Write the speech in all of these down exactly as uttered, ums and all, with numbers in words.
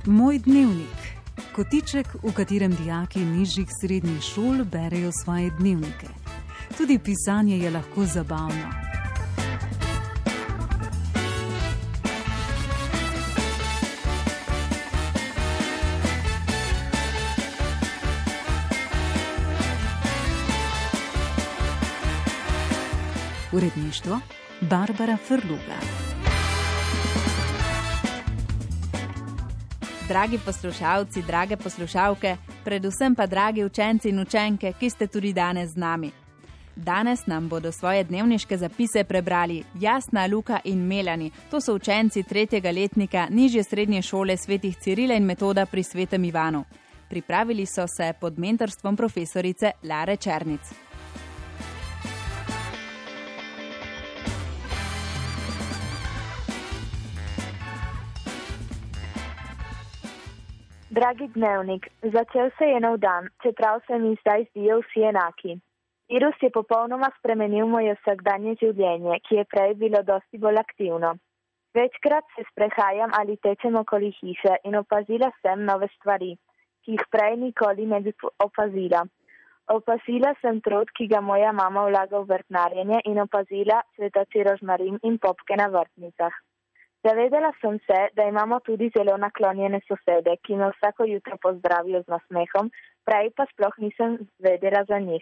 Moj dnevnik. Kotiček, v katerem dijaki nižjih srednjih šol berejo svoje dnevnike. Tudi pisanje je lahko zabavno. Uredništvo Barbara Frluga. Dragi poslušalci, drage poslušalke, predvsem pa dragi učenci in učenke, ki ste tudi danes z nami. Danes nam bodo svoje dnevniške zapise prebrali Jasna, Luka in Melani. To so učenci tretjega letnika nižje srednje šole svetih Cirila in Metoda pri Svetem Ivanu. Pripravili so se pod mentorstvom profesorice Lare Černic. Dragi dnevnik, začel se je nov dan, čeprav se mi zdaj zdijo vsi enaki. Virus je popolnoma spremenil moje vsakdanje življenje, ki je prej bilo dosti bolj aktivno. Večkrat se sprehajam ali tečem okoli hiše in opazila sem nove stvari, ki jih prej nikoli ne bi opazila. Opazila sem trud, ki ga moja mama vlaga v vrtnarjenje, in opazila cvetoči rožmarin in popke na vrtnicah. Zavedala sem se, da imamo tudi zelo naklonjene sosede, ki me vsako jutro pozdravijo z nasmehom, prej pa sploh nisem vedela za njih.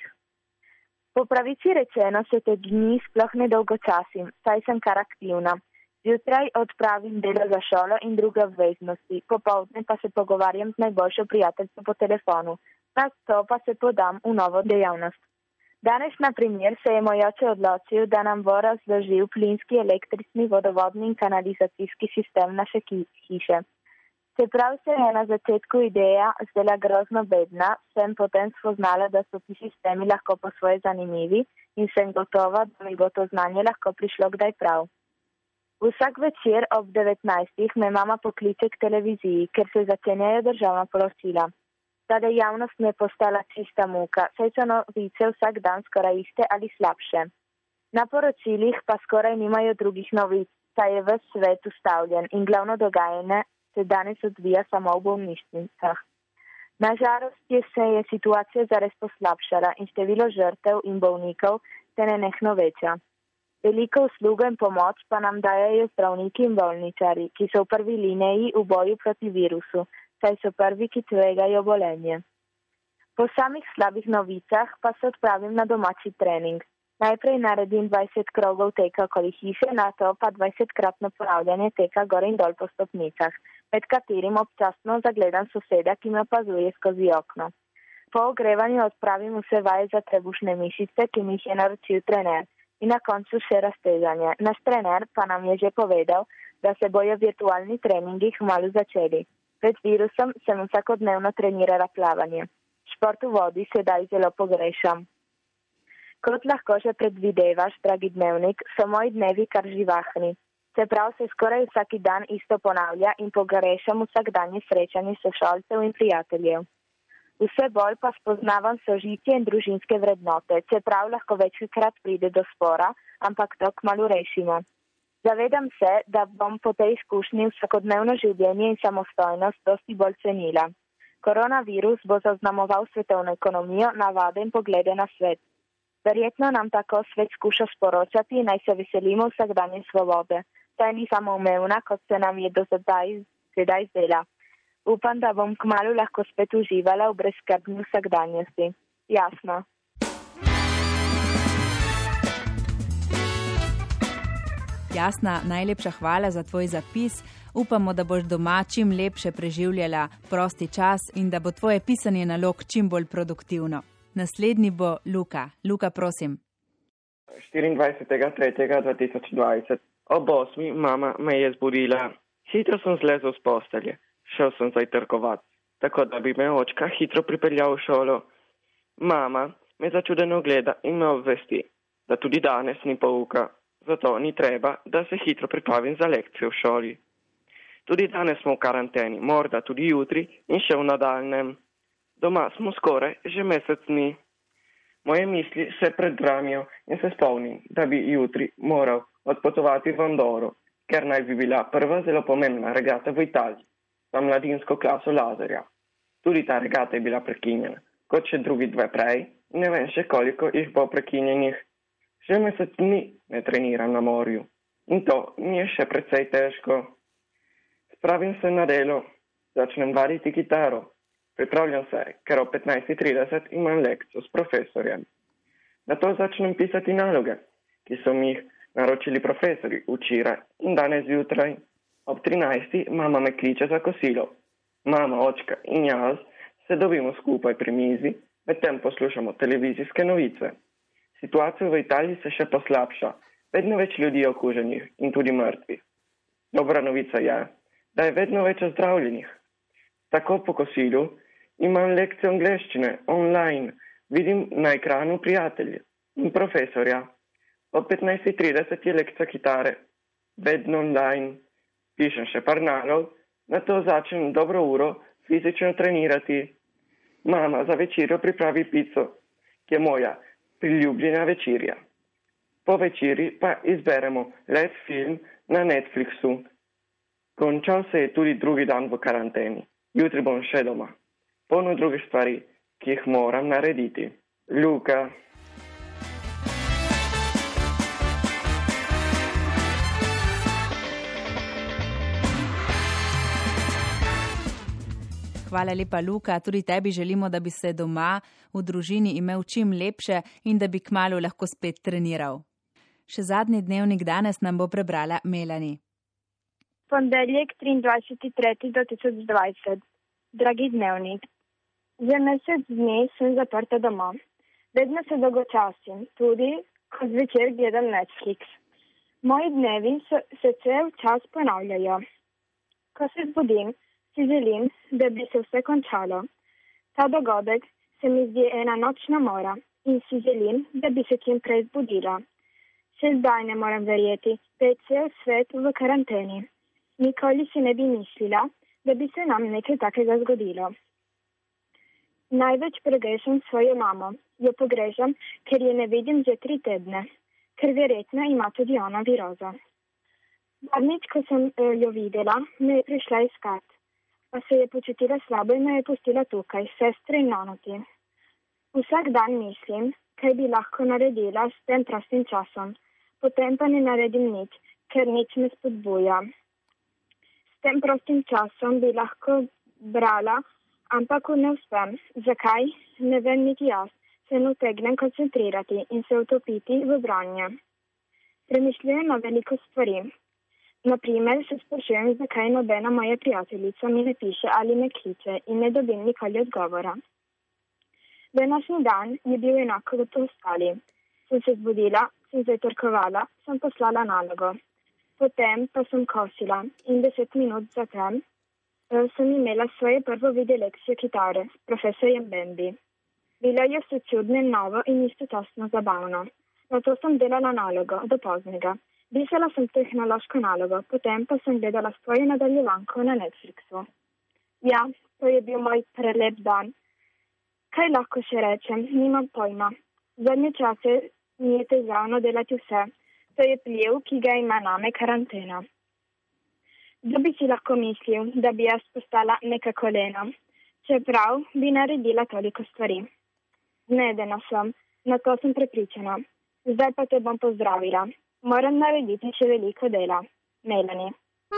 Po pravici rečeno se te dni sploh ne dolgočasim, saj sem kar aktivna. Zjutraj odpravim delo za šolo in druge obveznosti, popoldne pa se pogovarjam z najboljšo prijateljico po telefonu, nato pa se podam v novo dejavnost. Danes, na primer, se je moj oče odločil, da nam bo razložil plinski, električni, vodovodni in kanalizacijski sistem naše hiše. Čeprav se je na začetku ideja zdela grozno bedna, sem potem spoznala, da so ti sistemi lahko po svoje zanimivi in sem gotova, da mi bo to znanje lahko prišlo kdaj prav. Vsak večer ob devetnajstih me mama pokliče k televiziji, ker se začenjajo državna poročila. Ta dejavnost mi je postala čista muka, saj so novice vsak dan skoraj iste ali slabše. Na poročilih pa skoraj nimajo drugih novic, saj je ves svet ustavljen in glavno dogajanje se danes odvija samo v bolnišnicah. Nažalost je se je situacija zares poslabšala in število žrtev in bolnikov se nenehno veča. Veliko uslugo in pomoč pa nam dajajo zdravniki in bolničari, ki so v prvi liniji v boju proti virusu, saj so prvi, ki tvegajo bolenje. Po samih slabih novicah pa se odpravim na domači trening. Najprej naredim dvajset krogov teka okoli hiše, nato pa dvajsetkratno ponavljanje teka gor in dol po stopnicah, med katerim občasno zagledam soseda, ki me opazuje skozi okno. Po ogrevanju odpravim vse vaje za trebušne mišice, ki mi jih je naročil trener, in na koncu še raztežanje. Naš trener pa nam je že povedal, da se bojo virtualni treningi kmalu začeli. Pred virusom sem vsakodnevno trenirala plavanje. Šport v vodi sedaj zelo pogrešam. Kot lahko že predvidevaš, dragi dnevnik, so moji dnevi kar živahni. Čeprav se skoraj vsaki dan isto ponavlja in pogrešam vsakdanje srečanje sošolcev in prijateljev. Vse bolj pa spoznavam sožitje in družinske vrednote, čeprav lahko večkrat pride do spora, ampak to kmalu rešimo. Zavedam se, da bom po tej izkušnji vsakodnevno življenje in samostojnost dosti bolj cenila. Koronavirus bo zaznamoval svetovno ekonomijo, navade in poglede na svet. Verjetno nam tako svet skuša sporočati, naj se veselimo vsakdanje svobode. Saj ni samoumevna, kot se nam je do sedaj, sedaj zdela. Upam, da bom kmalu lahko spet uživala v brezskrbni vsakdanjosti. Jasno. Jasna, najlepša hvala za tvoj zapis. Upamo, da boš doma čim lepše preživljala prosti čas in da bo tvoje pisanje nalog čim bolj produktivno. Naslednji bo Luka. Luka, prosim. štiriindvajsetega tretjega dva tisoč dvajset. Ob osmi mama me je zbudila. Hitro sem zlezel z postelje. Šel sem zajtrkovat, tako da bi me očka hitro pripeljal v šolo. Mama me začudeno gleda in me obvesti, da tudi danes ni pouka. Zato ni treba, da se hitro pripravim za lekcijo v šoli. Tudi danes smo v karanteni, morda tudi jutri in še v nadaljnjem. Doma smo skoraj že mesec dni. Moje misli se predbramijo in se spomnim, da bi jutri moral odpotovati v Andoro, ker naj bi bila prva zelo pomembna regata v Italiji. za mladinsko klaso Lazarja. Tudi ta regata je bila prekinjena, kot še drugi dve prej, ne vem še koliko jih bo prekinjenih. Že mesec dni ne treniram na morju in to mi je še precej težko. Spravim se na delo, začnem vaditi kitaro, pripravljam se, ker ob petnajst trideset imam lekcijo s profesorjem. Nato začnem pisati naloge, ki so mi jih naročili profesori včeraj in danes zjutraj. Ob trinajsti mama me kliče za kosilo. Mama, očka in jaz se dobimo skupaj pri mizi, medtem poslušamo televizijske novice. Situacija v Italiji se še poslabša, vedno več ljudi je okuženih in tudi mrtvih. Dobra novica je, da je vedno več ozdravljenih. Tako po kosilu imam lekcijo angleščine online, vidim na ekranu prijatelje in profesorja. Ob petnajst trideset je lekcija kitare, vedno online, pišem še par nalog, nato začnem dobro uro fizično trenirati. Mama za večerjo pripravi pico, ki je moja priljubljena večerja. Po večeri pa izberemo let film na Netflixu. Končal se je tudi drugi dan v karanteni. Jutri bom še doma. Polno drugih stvari, ki jih moram narediti. Luka. Hvala lepa, Luka. Tudi tebi želimo, da bi se doma v družini imel čim lepše in da bi kmalu lahko spet treniral. Še zadnji dnevnik danes nam bo prebrala Melanie. Ponedeljek, triindvajseti tretji dva tisoč dvajset. Dragi dnevnik, za mesec dni sem zaprta doma. Vedno se dolgočasim, tudi ko zvečer gledam Netflix. Moji dnevi so, se cel čas ponavljajo. Ko se zbudim, si želim, da bi se vse končalo. Ta dogodek se mi zdi ena nočna mora in si želim, da bi se čim prej zbudila. Še zdaj ne moram verjeti, da je cel svet v karanteni. Nikoli si ne bi mislila, da bi se nam nekaj takega zgodilo. Največ pogrešam svojo mamo. Jo pogrešam, ker je ne vidim že tri tedne, ker verjetno ima tudi ona virozo. Zadnjič, ko sem jo videla, me je prišla iskat. Pa se je počutila slabo in me je pustila tukaj, sestre in nonoti. Vsak dan mislim, kaj bi lahko naredila s tem prostim časom, potem pa ne naredim nič, ker nič me spodbuja. S tem prostim časom bi lahko brala, ampak ne uspem. Zakaj? Ne vem niti jaz. Se ne utegnem koncentrirati in se utopiti v branje. Premišljujem na veliko stvari. Naprimer, se sprašujem, zakaj nobena moja prijateljica mi ne piše ali me kliče in ne dobim nikoli odgovora. Današnji dan je bil enako kot ostali. Sem se zbudila, sem zajtrkovala, sem poslala nalogo. Potem pa sem kosila in deset minut zatem sem imela svoje prvo video lekcijo kitare s profesorjem Bambi. Bilo je vse čudno in novo in istočasno zabavno. Nato sem delala nalogo do poznega. Pisala sem tehnološko nalogo, potem pa sem gledala svojo nadaljevanko na Netflixu. Ja, to je bil moj prelep dan. Kaj lahko še rečem? Nimam pojma. Zadnje čase mi je težavno delati vse. To je pliv, ki ga ima name karantena. Kdo bi si lahko mislil, da bi jaz postala neka kolena, čeprav bi naredila toliko stvari. Zmedena sem, na to sem prepričana. Zdaj pa te bom pozdravila. Moram narediti še veliko dela. Melanie.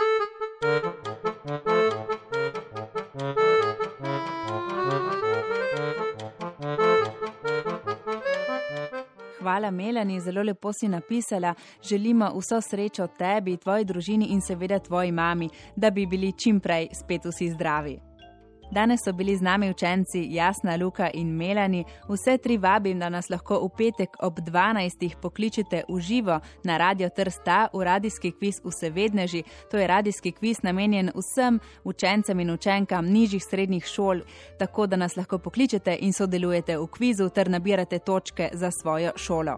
Hvala, Melanie, zelo lepo si napisala. Želimo vso srečo tebi, tvoji družini in seveda tvoji mami, da bi bili čim prej spet vsi zdravi. Danes so bili z nami učenci Jasna, Luka in Melanie. Vse tri vabim, da nas lahko v petek ob dvanajstih pokličete v živo na Radio Trsta v radijski kviz Vsevedneži. To je radijski kviz namenjen vsem učencem in učenkam nižjih srednjih šol, tako da nas lahko pokličete in sodelujete v kvizu ter nabirate točke za svojo šolo.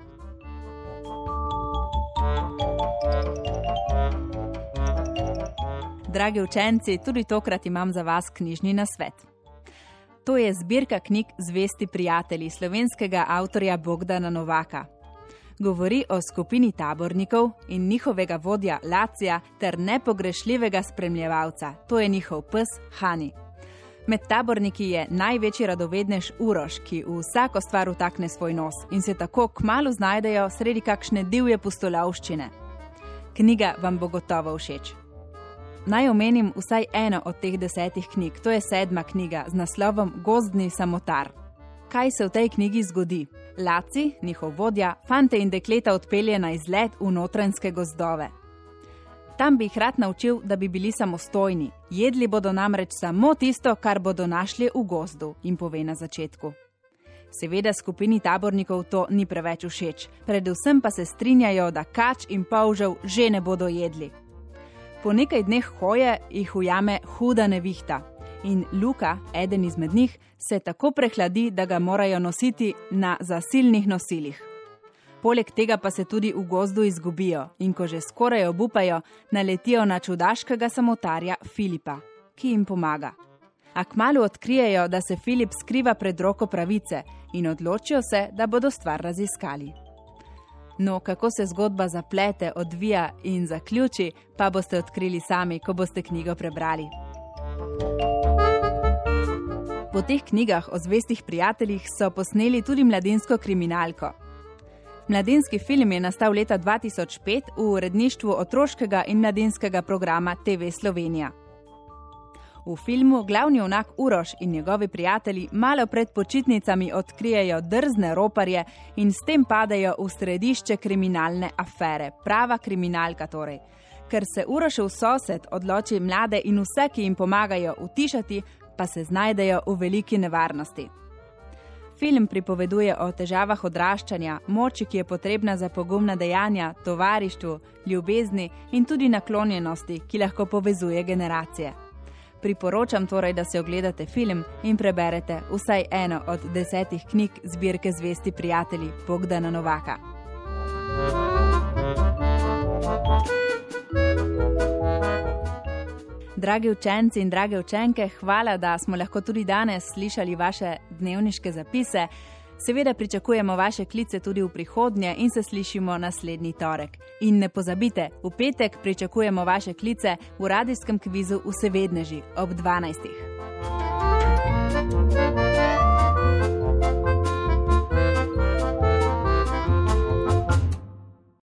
Dragi učenci, tudi tokrat imam za vas knjižni nasvet. To je zbirka knjig Zvesti prijatelji slovenskega avtorja Bogdana Novaka. Govori o skupini tabornikov in njihovega vodja Lacija ter nepogrešljivega spremljevalca, to je njihov pes Hani. Med taborniki je največji radovednež Uroš, ki v vsako stvar vtakne svoj nos in se tako kmalu znajdejo sredi kakšne divje pustolovščine. Knjiga vam bo gotovo všeč. Naj omenim vsaj eno od teh desetih knjig, to je sedma knjiga z naslovom Gozdni samotar. Kaj se v tej knjigi zgodi? Laci, njihov vodja, fante in dekleta odpelje na izlet v notranjske gozdove. Tam bi jih rad naučil, da bi bili samostojni. Jedli bodo namreč samo tisto, kar bodo našli v gozdu, jim pove na začetku. Seveda skupini tabornikov to ni preveč všeč, predvsem pa se strinjajo, da kač in polžev že ne bodo jedli. Po nekaj dneh hoje jih ujame huda nevihta in Luka, eden izmed njih, se tako prehladi, da ga morajo nositi na zasilnih nosilih. Poleg tega pa se tudi v gozdu izgubijo in ko že skoraj obupajo, naletijo na čudaškega samotarja Filipa, ki jim pomaga. A kmalu odkrijejo, da se Filip skriva pred roko pravice in odločijo se, da bodo stvar raziskali. No, kako se zgodba zaplete, odvija in zaključi, pa boste odkrili sami, ko boste knjigo prebrali. Po teh knjigah o zvestih prijateljih so posneli tudi mladinsko kriminalko. Mladinski film je nastal leta dva tisoč pet v uredništvu otroškega in mladinskega programa T V Slovenija. V filmu glavni junak Uroš in njegovi prijatelji malo pred počitnicami odkrijejo drzne roparje in s tem padajo v središče kriminalne afere, prava kriminalka torej. Ker se Urošev sosed odloči mlade in vse, ki jim pomagajo utišati, pa se znajdejo v veliki nevarnosti. Film pripoveduje o težavah odraščanja, moči, ki je potrebna za pogumna dejanja, tovarištvu, ljubezni in tudi naklonjenosti, ki lahko povezuje generacije. Priporočam torej, da se ogledate film in preberete vsaj eno od desetih knjig zbirke Zvesti prijatelji Bogdana Novaka. Dragi učenci in drage učenke, hvala, da smo lahko tudi danes slišali vaše dnevniške zapise. Seveda pričakujemo vaše klice tudi v prihodnje in se slišimo naslednji torek. In ne pozabite, v petek pričakujemo vaše klice v radijskem kvizu Vsevedneži ob dvanajstih.